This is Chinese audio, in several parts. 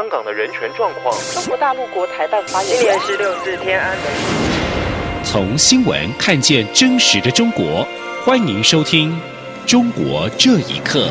港的人权状况。 中国大陆国台办发言人， 今年16日天安门。 从新闻看见真实的中国，欢迎收听《中国这一刻》。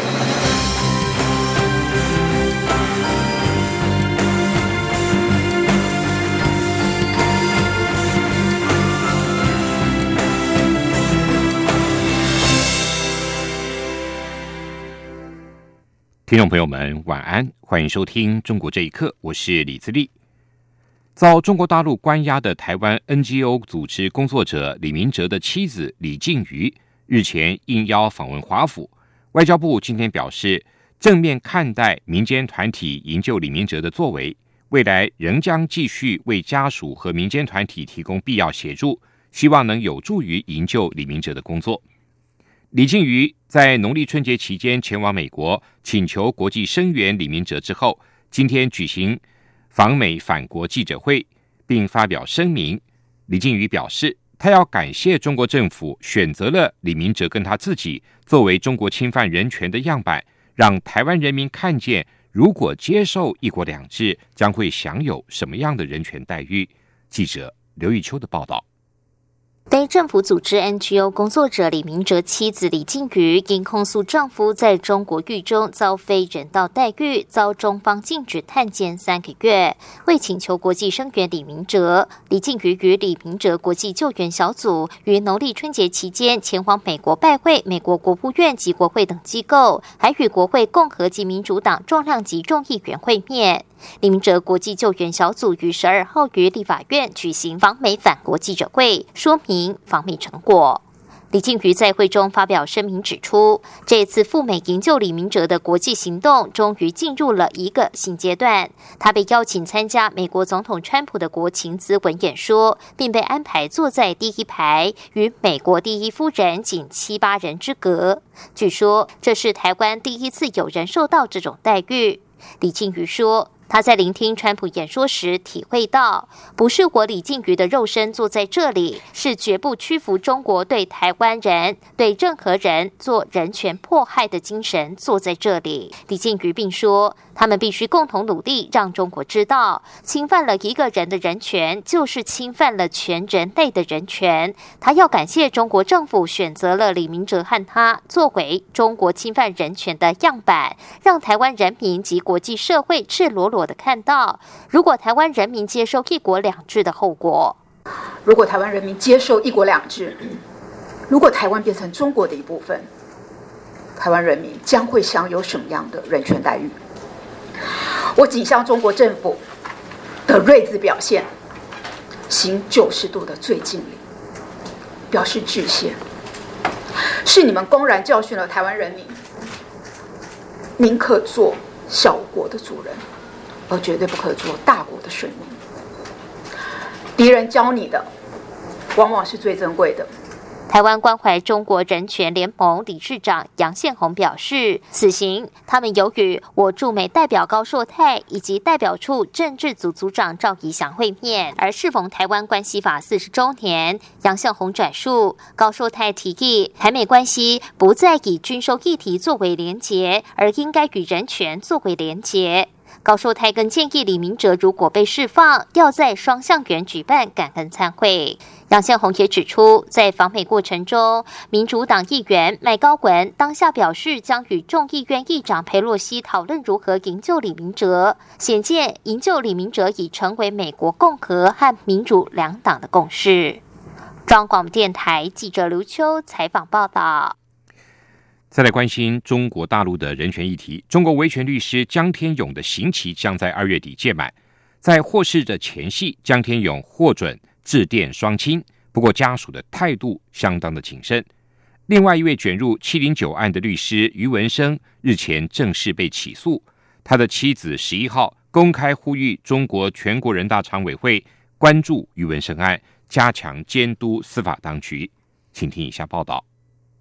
听众朋友们，晚安，欢迎收听《中国这一刻》，我是李自立。遭中国大陆关押的台湾 NGO 组织工作者李明哲的妻子李静瑜日前应邀访问华府，外交部今天表示，正面看待民间团体营救李明哲的作为，未来仍将继续为家属和民间团体提供必要协助，希望能有助于营救李明哲的工作。李静瑜在农历春节期间前往美国，请求国际声援李明哲之后，今天举行访美返国记者会，并发表声明。李静瑜表示，他要感谢中国政府选择了李明哲跟他自己作为中国侵犯人权的样板，让台湾人民看见，如果接受一国两制，将会享有什么样的人权待遇。记者刘玉秋的报道。 非政府组织 NGO 工作者李明哲妻子李静瑜因控诉丈夫在中国狱中遭非人道待遇，遭中方禁止探监3个月。为请求国际声援李明哲，李静瑜与李明哲国际救援小组于农历春节期间前往美国拜会美国国务院及国会等机构，还与国会共和及民主党重量级众议员会面。李明哲国际救援小组于12号于立法院举行访美返国记者会，说明访美成果。李静瑜在会中发表声明指出，这次赴美营救李明哲的国际行动终于进入了一个新阶段。他被邀请参加美国总统川普的国情咨文演说，并被安排坐在第一排，与美国第一夫人仅7、8人之隔。据说这是台湾第一次有人受到这种待遇。李静瑜说，他在聆听川普演说时体会到，不是我李静瑜的肉身坐在这里，是绝不屈服中国对台湾人、对任何人做人权迫害的精神坐在这里。李静瑜并说，他们必须共同努力，让中国知道，侵犯了一个人的人权，就是侵犯了全人类的人权。他要感谢中国政府选择了李明哲和他作为中国侵犯人权的样板，让台湾人民及国际社会赤裸裸地看到，如果台湾人民接受一国两制的后果。 如果台湾人民接受一国两制，如果台湾变成中国的一部分，台湾人民将会享有什么样的人权待遇？我仅向中国政府的睿智表现行90度的最敬礼，表示致谢。是你们公然教训了台湾人民，宁可做小国的主人，而绝对不可做大国的顺民。敌人教你的，往往是最珍贵的。 台湾关怀中国人权联盟理事长杨宪宏表示，此行他们有与我驻美代表高硕泰以及代表处政治组组长赵怡翔会面。而适逢台湾关系法40周年，杨宪宏转述高硕泰提议，台美关系不再以军售议题作为连结，而应该与人权作为连结。高硕泰更建议李明哲如果被释放，要在双橡园举办感恩餐会。杨宪宏也指出，在访美过程中，民主党议员麦高文当下表示将与众议院议长裴洛西讨论如何营救李明哲，显见营救李明哲已成为美国共和和民主两党的共识。中央广播电台记者刘秋采访报道。 再来关心中国大陆的人权议题，中国维权律师江天勇的刑期将在2月底届满。在获释的前夕，江天勇获准致电双亲，不过家属的态度相当的谨慎。另外一位卷入709案的律师余文生日前正式被起诉，他的妻子11号公开呼吁中国全国人大常委会关注余文生案，加强监督司法当局。请听以下报道。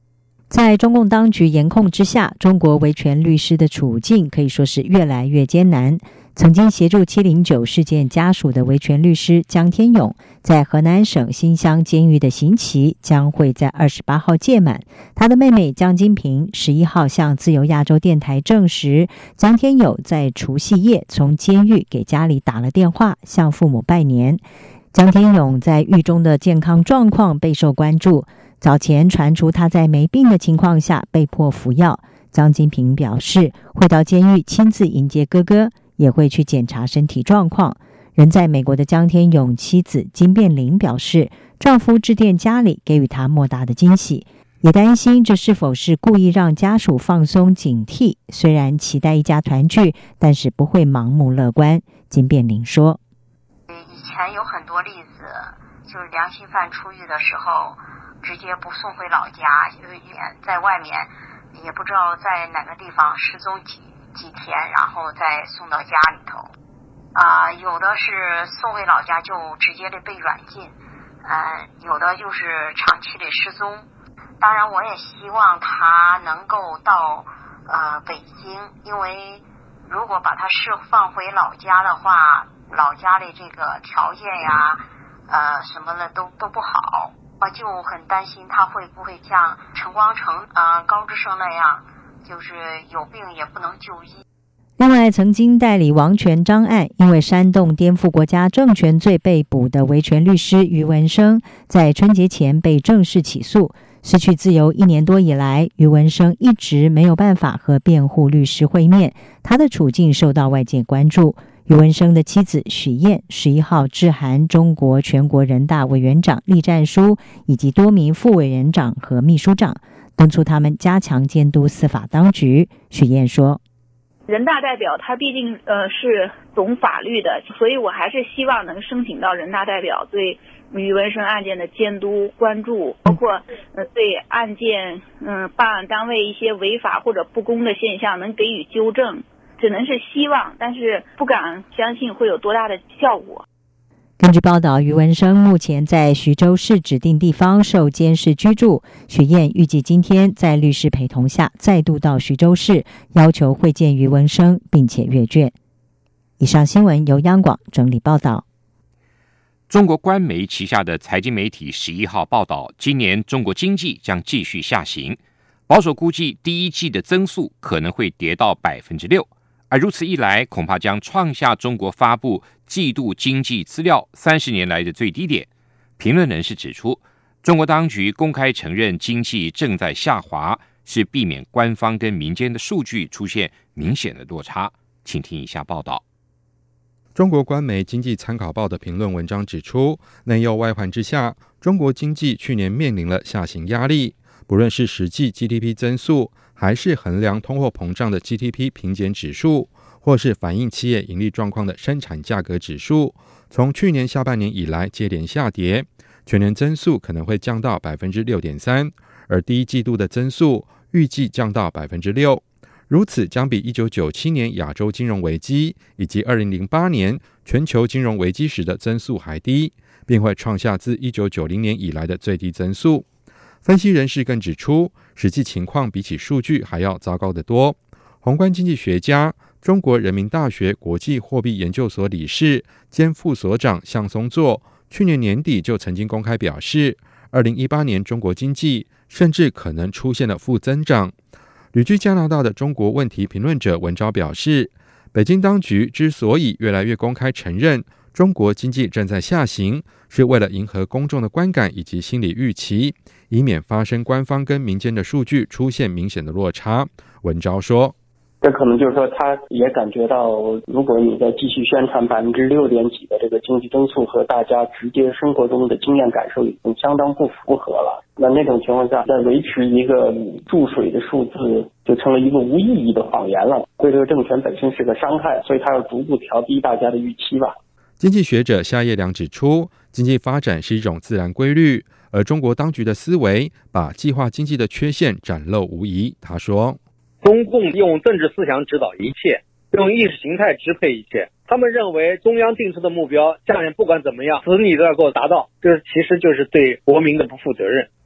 在中共当局严控之下，中国维权律师的处境可以说是越来越艰难。曾经协助709事件家属的维权律师江天勇，在河南省新乡监狱的刑期将会在28号届满。他的妹妹江金平11号向自由亚洲电台证实，江天勇在除夕夜从监狱给家里打了电话，向父母拜年。江天勇在狱中的健康状况备受关注，早前传出他在没病的情况下被迫服药。江金平表示，会到监狱亲自迎接哥哥，也会去检查身体状况。人在美国的江天勇妻子金变玲表示，丈夫致电家里给予她莫大的惊喜，也担心这是否是故意让家属放松警惕。虽然期待一家团聚，但是不会盲目乐观。金变玲说， 以前有很多例子，就是良心犯出狱的时候直接不送回老家，在外面也不知道在哪个地方失踪几天，然后再送到家里头。有的是送回老家就直接的被软禁，有的就是长期的失踪。当然我也希望他能够到北京，因为如果把他释放回老家的话，老家的这个条件呀什么的都不好，我就很担心他会不会像陈光诚高志胜那样，就是有病也不能就医。 另外，曾经代理王全璋案因为煽动颠覆国家政权罪被捕的维权律师余文生，在春节前被正式起诉。失去自由1年多以来，余文生一直没有办法和辩护律师会面，他的处境受到外界关注。余文生的妻子许燕11号致函中国全国人大委员长栗战书以及多名副委员长和秘书长，敦促他们加强监督司法当局。许燕说， 人大代表他毕竟是懂法律的，所以我还是希望能申请到人大代表对余文生案件的监督关注，包括对案件办案单位一些违法或者不公的现象能给予纠正，只能是希望，但是不敢相信会有多大的效果。 根据报道，余文生目前在徐州市指定地方受监视居住。许燕预计今天在律师陪同下再度到徐州市，要求会见余文生并且阅卷。以上新闻由央广整理报道。 中国官媒旗下的财经媒体11号报道，今年中国经济将继续下行，保守估计第一季的增速可能会跌到 6%， 而如此一来，恐怕将创下中国发布季度经济资料30年来的最低点。评论人士指出，中国当局公开承认经济正在下滑，是避免官方跟民间的数据出现明显的落差。请听以下报道。 中国官媒《经济参考报》的评论文章指出，内忧外患之下，中国经济去年面临了下行压力，不论是实际 GDP 增速，还是衡量通货膨胀的 GDP 平减指数，或是反映企业盈利状况的生产价格指数，从去年下半年以来接连下跌，全年增速可能会降到 6.3%， 而第一季度的增速预计降到 6%。如此将比1997年亚洲金融危机以及2008年全球金融危机时的增速还低，并会创下自1990年以来的最低增速。分析人士更指出，实际情况比起数据还要糟糕得多。宏观经济学家、中国人民大学国际货币研究所理事兼副所长向松作去年年底就曾经公开表示，2018年中国经济甚至可能出现了负增长。旅居加拿大的中国问题评论者文昭表示，北京当局之所以越来越公开承认中国经济正在下行，是为了迎合公众的观感以及心理预期，以免发生官方跟民间的数据出现明显的落差。文昭说， 这可能就是说他也感觉到，如果你再继续宣传6点几的这个经济增速和大家直接生活中的经验感受已经相当不符合了，那种情况下再维持一个注水的数字就成了一个无意义的谎言了，对这个政权本身是个伤害，所以他要逐步调低大家的预期吧。 经济学者夏叶良指出，经济发展是一种自然规律，而中国当局的思维把计划经济的缺陷展露无遗。他说， 中共用政治思想指导一切，用意识形态支配一切，他们认为中央定出的目标，下面不管怎么样死你都要给我达到，这其实就是对国民的不负责任。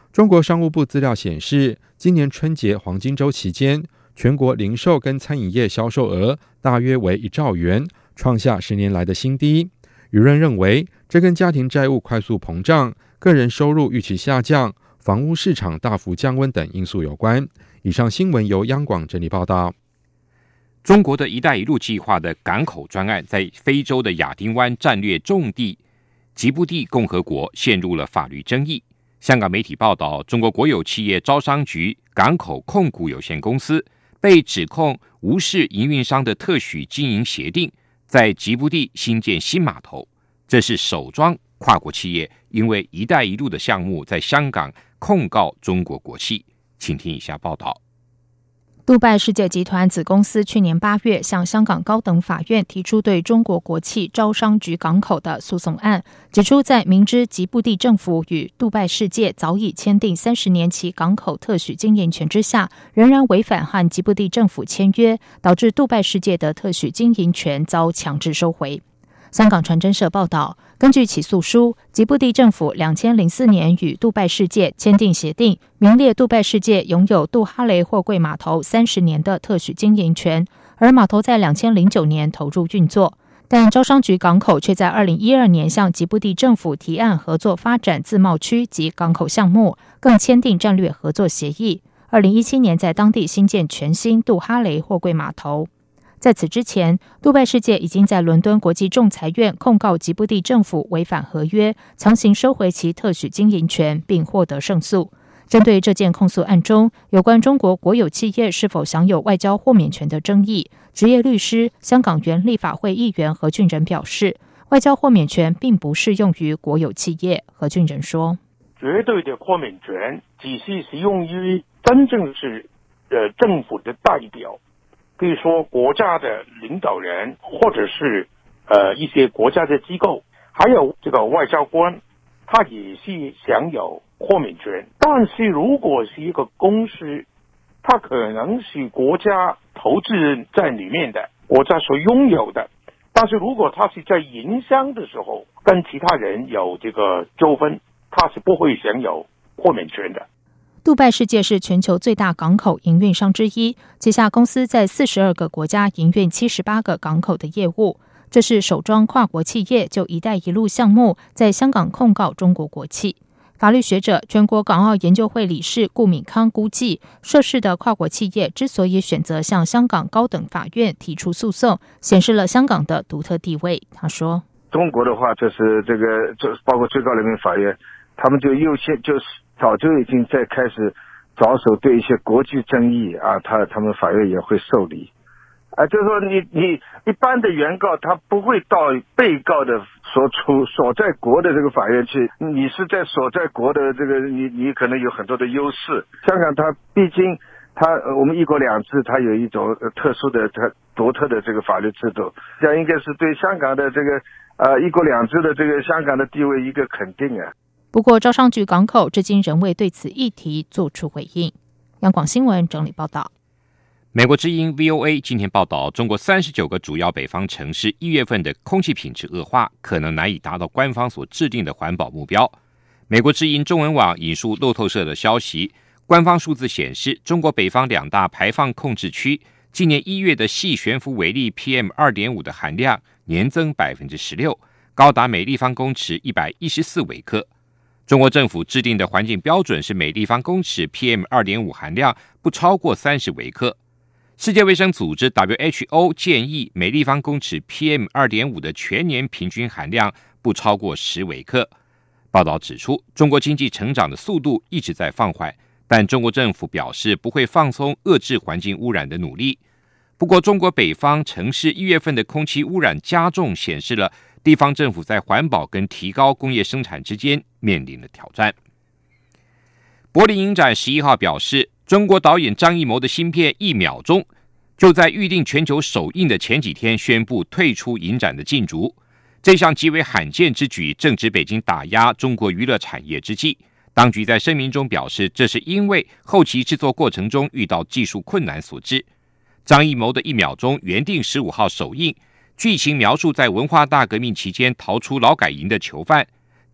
中国商务部资料显示，今年春节黄金周期间，全国零售跟餐饮业销售额大约为1兆元，创下10年来的新低。舆论认为，这跟家庭债务快速膨胀、个人收入预期下降、房屋市场大幅降温等因素有关。以上新闻由央广整理报道。 中国的一带一路计划的港口专案在非洲的亚丁湾战略重地吉布地共和国陷入了法律争议。香港媒体报道，中国国有企业招商局港口控股有限公司被指控无视营运商的特许经营协定，在吉布地新建新码头。这是首桩跨国企业因为一带一路的项目在香港控告中国国企。请听以下报道。 杜拜世界集团子公司去年8月向香港高等法院提出对中国国企招商局港口的诉讼案，指出在明知吉布地政府与杜拜世界早已签订30年期港口特许经营权之下，仍然违反和吉布地政府签约，导致杜拜世界的特许经营权遭强制收回。香港传真社报道，根据起诉书，吉布地政府2004年与杜拜世界签订协定，名列杜拜世界拥有杜哈雷货柜码头30年的特许经营权，而码头在2009年投入运作。但招商局港口却在2012年向吉布地政府提案合作发展自贸区及港口项目，更签订战略合作协议。2017年在当地新建全新杜哈雷货柜码头。在此之前，杜拜世界已经在伦敦国际仲裁院控告吉布地政府违反合约，强行收回其特许经营权，并获得胜诉。针对这件控诉案中有关中国国有企业是否享有外交豁免权的争议，职业律师、香港原立法会议员何俊仁表示，外交豁免权并不适用于国有企业。何俊仁说， 绝对的豁免权只是适用于真正是政府的代表，比如说国家的领导人，或者是一些国家的机构，还有这个外交官，他也是享有豁免权。但是如果是一个公司，它可能是国家投资人在里面的，国家所拥有的，但是如果它是在营商的时候跟其他人有这个纠纷，它是不会享有豁免权的。 杜拜世界是全球最大港口营运商之一，旗下公司在42个国家营运78个港口的业务。这是首桩跨国企业就一带一路项目在香港控告中国国企。法律学者、全国港澳研究会理事顾敏康估计，涉事的跨国企业之所以选择向香港高等法院提出诉讼，显示了香港的独特地位。他说， 中国的话就是包括最高人民法院，他们就早就已经在开始着手对一些国际争议啊，他们法院也会受理。就是说你一般的原告他不会到被告的所在国的这个法院去，你是在所在国的这个你可能有很多的优势。香港它毕竟我们一国两制，它有一种特殊的它独特的这个法律制度，这样应该是对香港的这个一国两制的这个香港的地位一个肯定啊。 不过招商局港口至今仍未对此议题做出回应。央广新闻整理报道。 美国之音 VOA 今天报道，中国39个主要北方城市1月份的空气品质恶化，可能难以达到官方所制定的环保目标。美国之音中文网引述路透社的消息，官方数字显示，中国北方2大排放控制区今年1月的细悬浮微粒 PM2.5 的含量年增 16%， 高达每立方公尺114微克。中国政府制定的环境标准是每立方公尺 PM2.5 含量不超过30微克。世界卫生组织 WHO 建议每立方公尺 PM2.5 的全年平均含量不超过10微克。报道指出，中国经济成长的速度一直在放缓，但中国政府表示不会放松遏制环境污染的努力。不过，中国北方城市1月份的空气污染加重，显示了地方政府在环保跟提高工业生产之间面临的挑战。柏林影展11号表示，中国导演张艺谋的新片《1秒钟》就在预定全球首映的前几天宣布退出影展的禁足。这项极为罕见之举正值北京打压中国娱乐产业之际，当局在声明中表示，这是因为后期制作过程中遇到技术困难所致。张艺谋的《1秒钟》原定15号首映，剧情描述在文化大革命期间逃出劳改营的囚犯，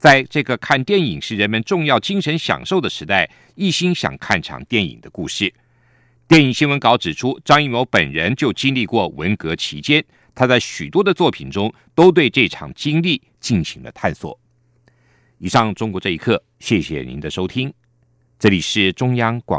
在这个看电影是人们重要精神享受的时代，一心想看场电影的故事。电影新闻稿指出，张艺谋本人就经历过文革期间，他在许多的作品中都对这场经历进行了探索。以上中国这一刻，谢谢您的收听，这里是中央广